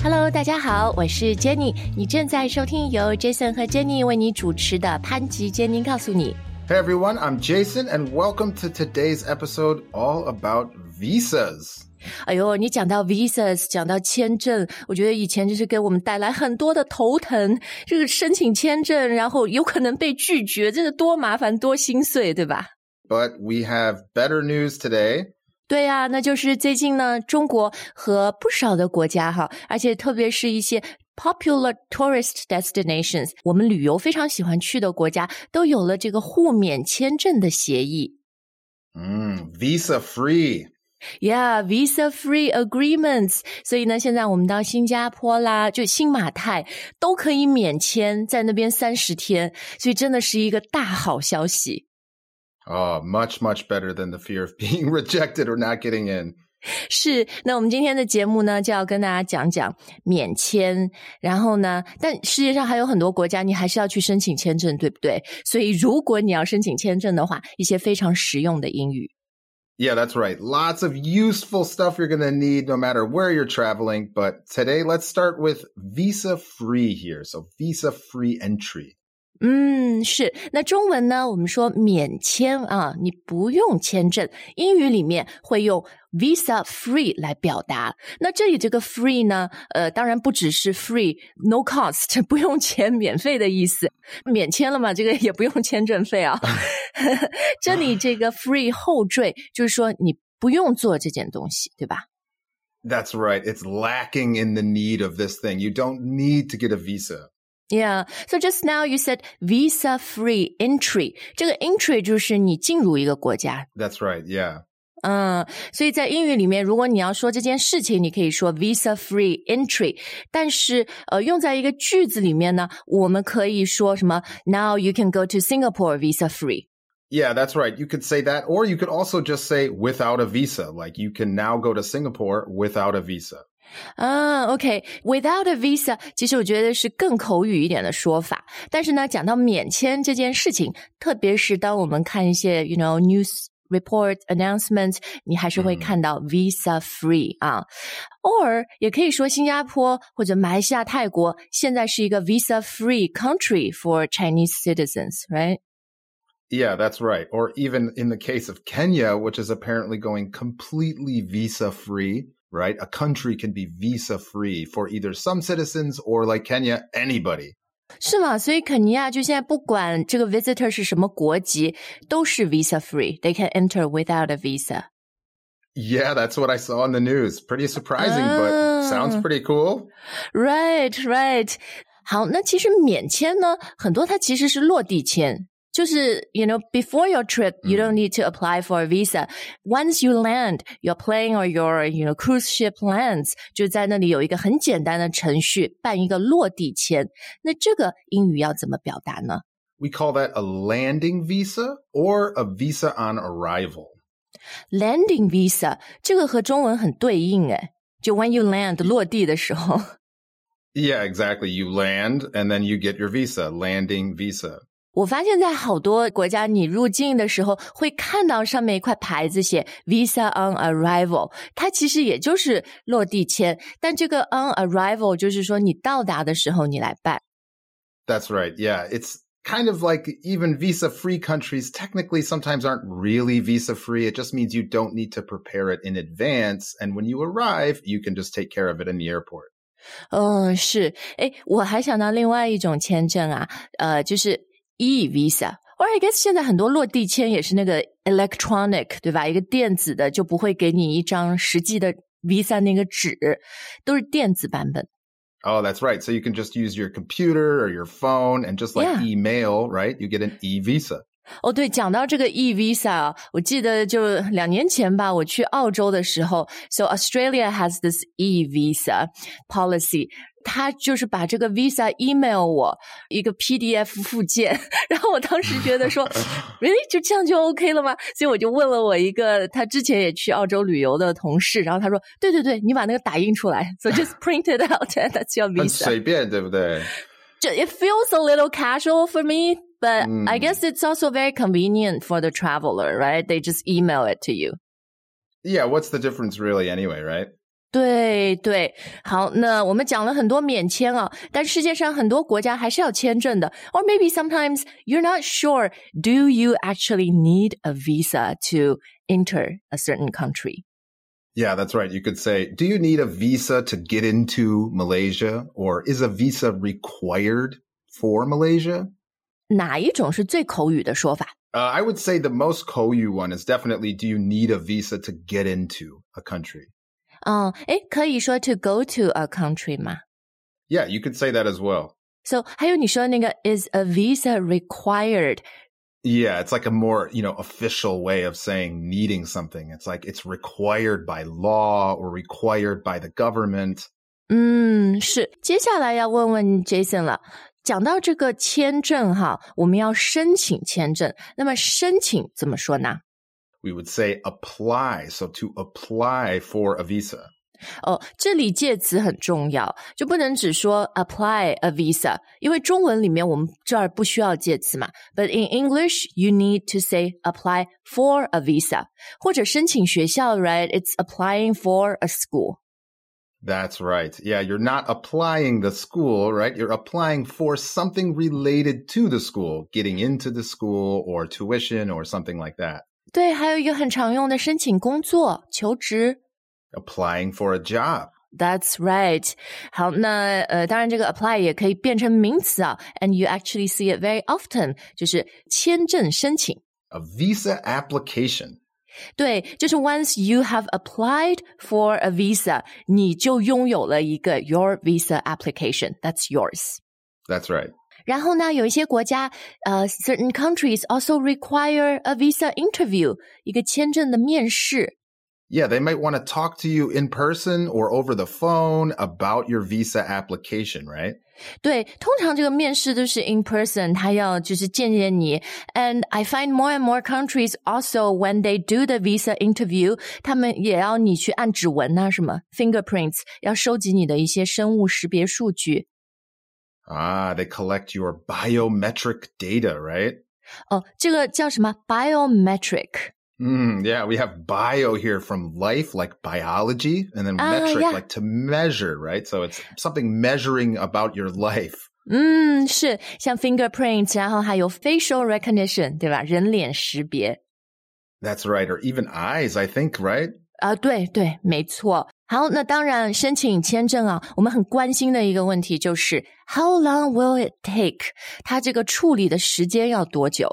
Hello， 大家好，我是 Jenny， 你正在收听由 Jason 和 Jenny 为你主持的潘吉 Jenny 告诉你。 Hey everyone, I'm Jason and welcome to today's episode all about visas. 哎呦，你讲到 visas， 讲到签证，我觉得以前就是给我们带来很多的头疼，这个申请签证，然后有可能被拒绝，真的多麻烦多心碎，对吧？ But we have better news today. 对啊，那就是最近呢，中国和不少的国家哈，而且特别是一些 popular tourist destinations， 我们旅游非常喜欢去的国家，都有了这个互免签证的协议。 Visa free.Yeah, visa-free agreements. 所以呢，现在我们到新加坡啦，就新马泰都可以免签，在那边30天，所以真的是一个大好消息。 Oh, much, much better than the fear of being rejected or not getting in. 是，那我们今天的节目呢，就要跟大家讲讲免签，然后呢，但世界上还有很多国家，你还是要去申请签证，对不对？所以如果你要申请签证的话，一些非常实用的英语。 Yeah, that's right. Lots of useful stuff you're going to need no matter where you're traveling. But today, let's start with visa-free here. So visa-free entry. 是。那中文呢，我们说免签啊，你不用签证。英语里面会用 visa free 来表达。那这里这个 free 呢，当然不只是 free, no cost, 不用钱，免费的意思。免签了嘛，这个也不用签证费啊。这里这个 free 后缀就是说你不用做这件东西，对吧？ That's right. It's lacking in the need of this thing. You don't need to get a visa.Yeah, so just now you said visa-free entry. 这个 entry 就是你进入一个国家。 That's right, yeah. 所以在英语里面，如果你要说这件事情，你可以说 visa-free entry. 但是用在一个句子里面呢，我们可以说什么 Now you can go to Singapore visa-free.Yeah, that's right. You could say that, or you could also just say without a visa. Like you can now go to Singapore without a visa.OK, without a visa 其实我觉得是更口语一点的说法，但是呢讲到免签这件事情，特别是当我们看一些 news report announcement 你还是会看到 visa free 啊，or 也可以说新加坡或者马来西亚泰国现在是一个 visa free country for Chinese citizens, right?Yeah, that's right. Or even in the case of Kenya, which is apparently going completely visa-free.Right? A country can be visa-free for either some citizens or like Kenya, anybody. 是吗？所以肯尼亚就现在不管这个 visitor 是什么国籍，都是 visa-free. They can enter without a visa. Yeah, that's what I saw in the news. Pretty surprising, but sounds pretty cool. Right. 好，那其实免签呢，很多它其实是落地签。就是 before your trip, you don't need to apply for a visa. Once you land, your plane or your, cruise ship lands, 就在那里有一个很简单的程序，办一个落地签。那这个英语要怎么表达呢？ We call that a landing visa or a visa on arrival. Landing visa, 这个和中文很对应诶，就 when you land, 落地的时候。 Yeah, exactly. You land and then you get your visa, landing visa. 我发现在好多国家你入境的时候会看到上面一块牌子写 Visa on Arrival， 它其实也就是落地签，但这个 on arrival 就是说你到达的时候你来办。 That's right, yeah. It's kind of like even visa-free countries technically sometimes aren't really visa-free. It just means you don't need to prepare it in advance, and when you arrive, you can just take care of it in the airport. 是，我还想到另外一种签证啊，就是e-visa, or I guess 现在很多落地签也是那个 electronic, 对吧？一个电子的，就不会给你一张实际的 visa 那个纸，都是电子版本。 Oh, that's right. So you can just use your computer or your phone and just like email, right? You get an e-visa. 对，讲到这个 e-visa 啊，我记得就2年前吧，我去澳洲的时候 So Australia has this e-visa policy. 他就是把这个 visa email 我一个 PDF 附件，然后我当时觉得说really 就这样就 OK 了吗？所以我就问了我一个他之前也去澳洲旅游的同事，然后他说对，你把那个打印出来 So just print it out and that's your visa. 很随便，对不对？ It feels a little casual for me, but I guess it's also very convenient for the traveler, right? They just email it to you. Yeah, what's the difference really anyway, right? 对对，好，那我们讲了很多免签啊，但世界上很多国家还是要签证的。Or maybe sometimes you're not sure, do you actually need a visa to enter a certain country? Yeah, that's right. You could say, do you need a visa to get into Malaysia? Or is a visa required for Malaysia? 哪一种是最口语的说法？ I would say the most Koyu one is definitely, do you need a visa to get into a country? 诶，可以说 to go to a country 吗？ Yeah, you could say that as well. So 还有你说那个 is a visa required? Yeah, it's like a more, official way of saying needing something. It's like it's required by law or required by the government. 是。接下来要问问 Jason 了。讲到这个签证哈，我们要申请签证，那么申请怎么说呢？ We would say apply. So to apply for a visa. 这里介词很重要，就不能只说 apply a visa， 因为中文里面我们这儿不需要介词嘛。But in English, you need to say apply for a visa， 或者申请学校 right? It's applying for a school. That's right. Yeah, you're not applying the school, right? You're applying for something related to the school, getting into the school or tuition or something like that. 对，还有一个很常用的申请工作、求职。 Applying for a job. That's right. 好，那当然这个 apply 也可以变成名词啊 and you actually see it very often, 就是签证申请。 A visa application. 对，就是 once you have applied for a visa, 你就拥有了一个 your visa application. That's yours. That's right. 然后呢，有一些国家certain countries also require a visa interview, 一个签证的面试。 Yeah, they might want to talk to you in person or over the phone about your visa application, right? 对，通常这个面试都是 in person, 他要就是见见你。And I find more and more countries also when they do the visa interview, 他们也要你去按指纹啊，什么 fingerprints, 要收集你的一些生物识别数据。 They collect your biometric data, right? 这个叫什么 biometric? Yeah, we have bio here from life, like biology, and then metric, yeah. like to measure, right? So it's something measuring about your life. 是，像 fingerprints, 然后还有 facial recognition, 对吧？人脸识别。 That's right, or even eyes, I think, right? 对对，没错。好，那当然申请签证啊，我们很关心的一个问题就是 How long will it take? 它这个处理的时间要多久？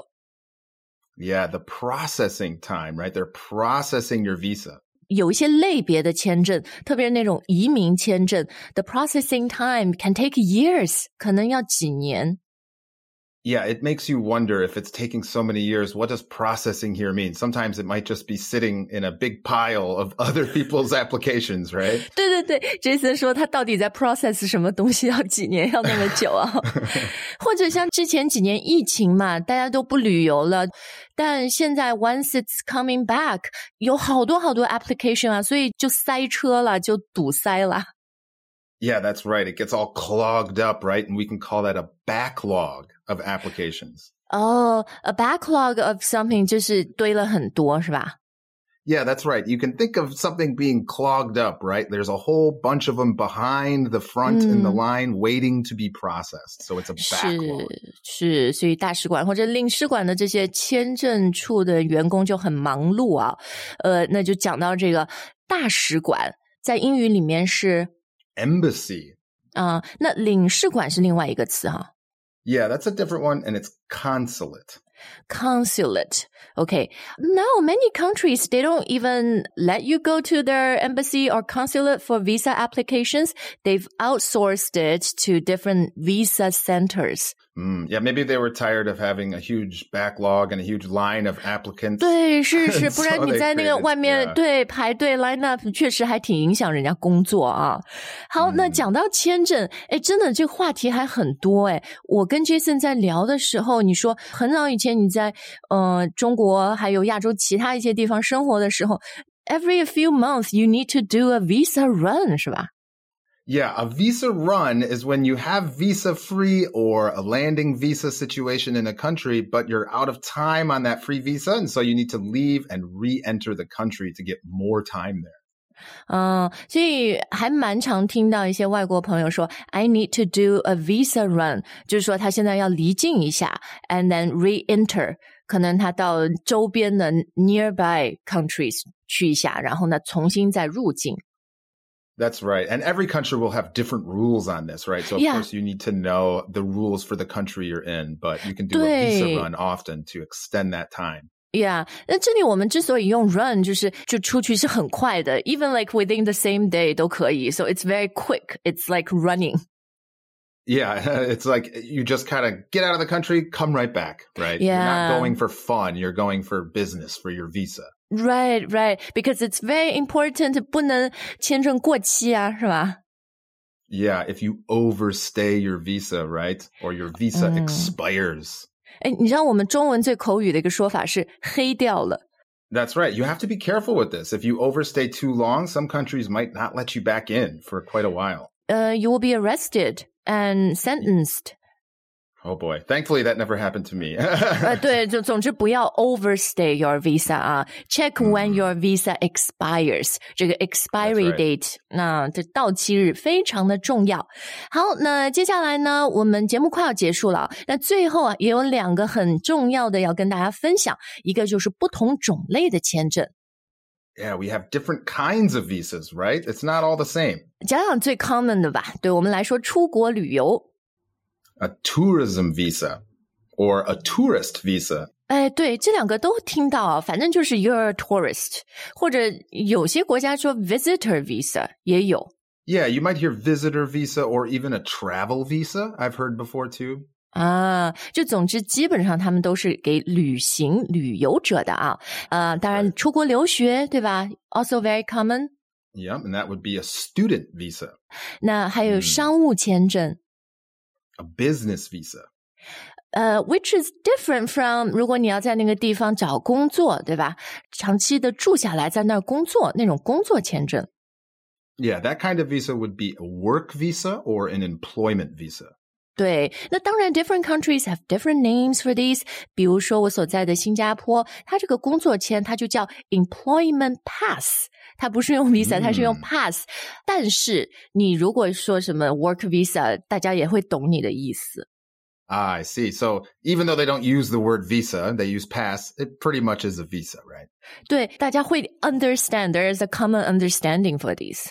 Yeah, the processing time, right? They're processing your visa. 有一些类别的签证，特别是那种移民签证 the processing time can take years, 可能要几年。 Yeah, it makes you wonder if it's taking so many years, what does processing here mean? Sometimes it might just be sitting in a big pile of other people's applications, right? 对对对 Jason 说他到底在 process 什么东西要几年要那么久啊或者像之前几年疫情嘛，大家都不旅游了，但现在 once it's coming back 有好多好多 application 啊，所以就塞车了，就堵塞了。 Yeah, that's right. It gets all clogged up, right? And we can call that a backlog of applications. A backlog of something 就是堆了很多，是吧？ Yeah, that's right. You can think of something being clogged up, right? There's a whole bunch of them behind the front in the line waiting to be processed. So it's a backlog. 是，所以大使馆或者领事馆的这些签证处的员工就很忙碌啊。那就讲到这个大使馆，在英语里面是 Embassy. 那领事馆是另外一个词哈。 Yeah, that's a different one, and it's consulate. Consulate. Okay. Now, many countries, they don't even let you go to their embassy or consulate for visa applications. They've outsourced it to different visa centers. Yeah, maybe they were tired of having a huge backlog and a huge line of applicants. 对，是，不然你在那个 So they created, 外面 yeah. 对排队 line up 确实还挺影响人家工作啊。好，那讲到签证，真的这个话题还很多我跟 Jason 在聊的时候，你说很早以前你在中国还有亚洲其他一些地方生活的时候 ，every few months you need to do a visa run 是吧？ Yeah, a visa run is when you have visa free or a landing visa situation in a country, but you're out of time on that free visa. And so you need to leave and re-enter the country to get more time there. 所以还蛮常听到一些外国朋友说 I need to do a visa run 就是说他现在要离境一下 and then re-enter 可能他到周边的 nearby countries 去一下然后呢重新再入境 That's right. And every country will have different rules on this, right? So, of course, you need to know the rules for the country you're in, but you can do a visa run often to extend that time.Yeah, 那这里我们之所以用 run 就出去是很快的 even like within the same day 都可以 so it's very quick it's like running Yeah, it's like you just kind of get out of the country, come right back, right? Yeah. You're not going for fun, you're going for business, for your visa. Right, because it's very important 不能签证过期啊是吧 Yeah, if you overstay your visa, right? Or your visa expires. 你知道我们中文最口语的一个说法是黑掉了 That's right. You have to be careful with this. If you overstay too long, some countries might not let you back in for quite a while. You will be arrested and sentenced. Oh boy. Thankfully, that never happened to me. 对，总之不要 overstay your visa 啊 Check when your visa expires. 这个 expiry date, 那这到期日非常的重要。好，那接下来呢，我们节目快要结束了。那最后啊，也有2个很重要的要跟大家分享，一个就是不同种类的签证。 Yeah, we have different kinds of visas, right? It's not all the same. 讲讲最 common 的吧，对我们来说出国旅游。 A tourism visa or a tourist visa. 对，这2个都听到啊，反正就是 you're a tourist 或者有些国家说 visitor visa 也有。 Yeah, you might hear visitor visa or even a travel visa. I've heard before too. 就总之基本上他们都是给旅游者的啊。当然出国留学，对吧 ？Also very common. Yeah, and that would be a student visa. 那还有商务签证。 A business visa. Which is different from 如果你要在那个地方找工作，对吧？长期的住下来在那儿工作，那种工作签证。 Yeah, that kind of visa would be a work visa or an employment visa. 对，那当然 different countries have different names for these. 比如说我所在的新加坡，它这个工作签它就叫 employment pass. 它不是用 visa, 它是用 pass. 但是你如果说什么 work visa, 大家也会懂你的意思。 I see. So even though they don't use the word visa, they use pass, it pretty much is a visa, right? 对，大家会 understand. There is a common understanding for these.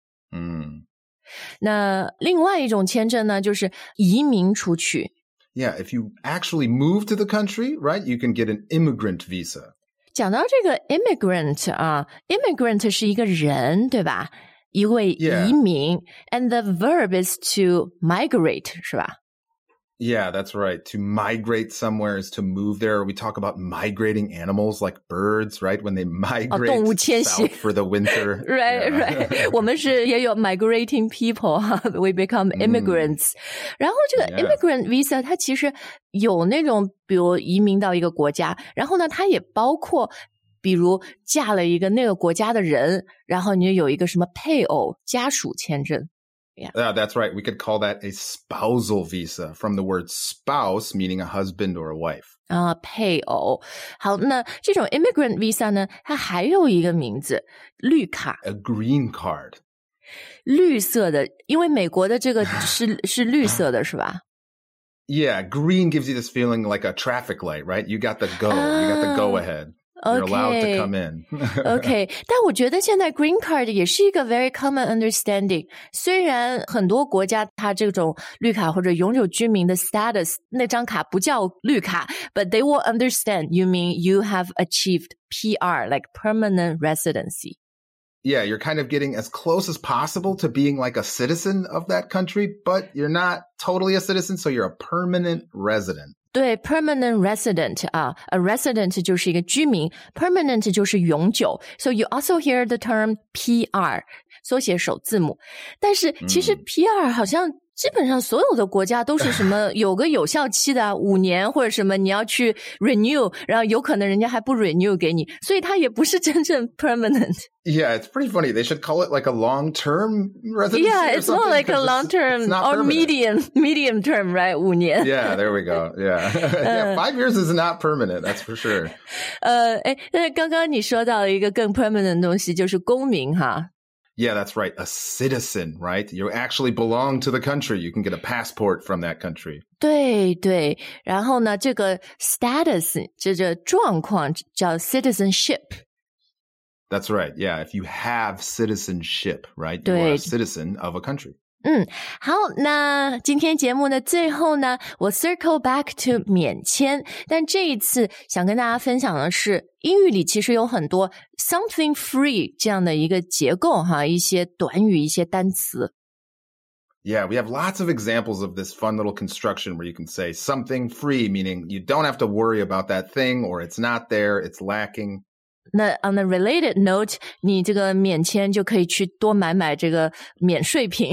那另外一种签证呢，就是移民出去。 Yeah, if you actually move to the country, right, you can get an immigrant visa. 讲到这个 immigrant 啊 immigrant 是一个人，对吧？一位移民 and the verb is to migrate, 是吧？ Yeah, that's right. To migrate somewhere is to move there. We talk about migrating animals like birds, right? When they migrate 动物迁徙 south for the winter. Right. 我们是也有 migrating people, we become immigrants. 然后这个 immigrant visa 它其实有那种比如移民到一个国家，然后呢它也包括比如嫁了一个那个国家的人，然后你就有一个什么配偶家属签证。 Yeah, that's right. We could call that a spousal visa from the word spouse, meaning a husband or a wife. 配偶。好，那这种 immigrant visa 呢，它还有一个名字，绿卡。 A green card. 绿色的，因为美国的这个是绿色的，是吧？ Yeah, green gives you this feeling like a traffic light, right? You got the go. You got the go ahead. You're allowed to come in. Okay. 但我觉得现在 green card 也是一个 very common understanding. 虽然很多国家它这种绿卡或者永久居民的 status 那张卡不叫绿卡 but they will understand you mean you have achieved PR, like permanent residency. Yeah, you're kind of getting as close as possible to being like a citizen of that country, but you're not totally a citizen, so you're a permanent resident. 对 permanent resident 啊 a resident 就是一个居民 permanent 就是永久 so you also hear the term PR 缩写首字母但是其实 PR 好像基本上所有的国家都是什么有个有效期的5年或者什么你要去 renew， 然后有可能人家还不 renew 给你，所以它也不是真正 permanent. Yeah, it's pretty funny. They should call it like a long-term residency. Yeah, it's more like a long-term or medium term, right? 5年. Yeah, there we go. Yeah. Yeah, 5 years is not permanent, that's for sure. 但是刚刚你说到了一个更 permanent 的东西，就是公民哈。 Yeah, that's right. A citizen, right? You actually belong to the country. You can get a passport from that country. 对对，然后呢，这个 status 这个状况叫 citizenship。That's right. Yeah, if you have citizenship, right? You are a citizen of a country. 好，那今天节目的最后呢，我 circle back to 免签，但这一次想跟大家分享的是，英语里其实有很多 something free 这样的一个结构哈，一些短语，一些单词。 Yeah, we have lots of examples of this fun little construction where you can say something free, meaning you don't have to worry about that thing or it's not there, it's lacking. 那 on a related note, 你这个免签就可以去多买这个免税品。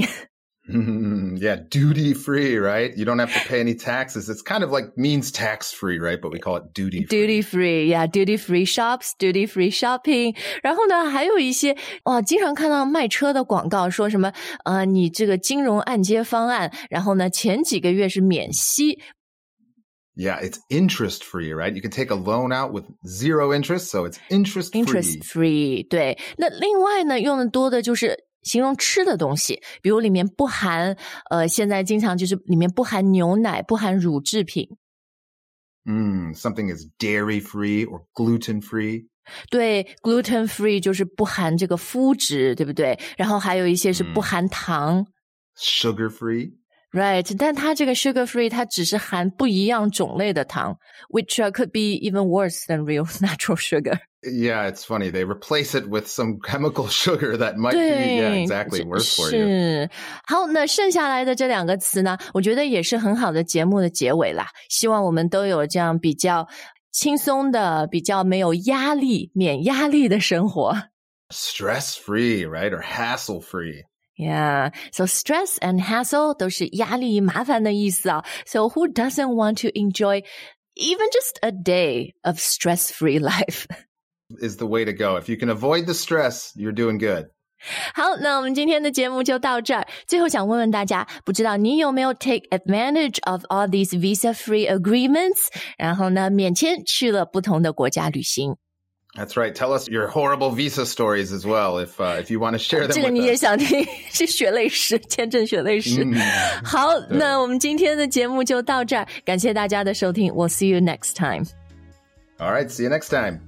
Yeah, duty free, right? You don't have to pay any taxes. It's kind of like means tax free, right? But we call it duty free. Duty free, yeah, duty free shops, duty free shopping. 然后呢，还有一些经常看到卖车的广告说什么你这个金融按揭方案，然后呢前几个月是免息。 Yeah, it's interest free, right? You can take a loan out with 0 interest, so it's interest free. Interest free, 对。那另外呢，用的多的就是形容吃的东西，比如里面不含现在经常就是里面不含牛奶，不含乳制品。 Something is dairy free or gluten free. 对 gluten free 就是不含这个麸质，对不对？然后还有一些是不含糖。 Sugar free.Right, 但它这个 sugar free 它只是含不一样种类的糖 which could be even worse than real natural sugar. Yeah, it's funny. They replace it with some chemical sugar that might be exactly worse for you. 是。好，那剩下来的这2个词呢，我觉得也是很好的节目的结尾啦。希望我们都有这样比较轻松的，比较没有压力，免压力的生活。 Stress free, right? Or hassle free.Yeah, so stress and hassle 都是压力麻烦的意思啊。So who doesn't want to enjoy even just a day of stress-free life? Is the way to go. If you can avoid the stress, you're doing good. 好，那我们今天的节目就到这儿。最后想问问大家，不知道你有没有 take advantage of all these visa-free agreements? 然后呢，免签去了不同的国家旅行。 That's right. Tell us your horrible visa stories as well if you want to share them with us. 这个你也想听，是血泪史，签证血泪史。好，那我们今天的节目就到这儿，感谢大家的收听。We'll see you next time. All right, see you next time.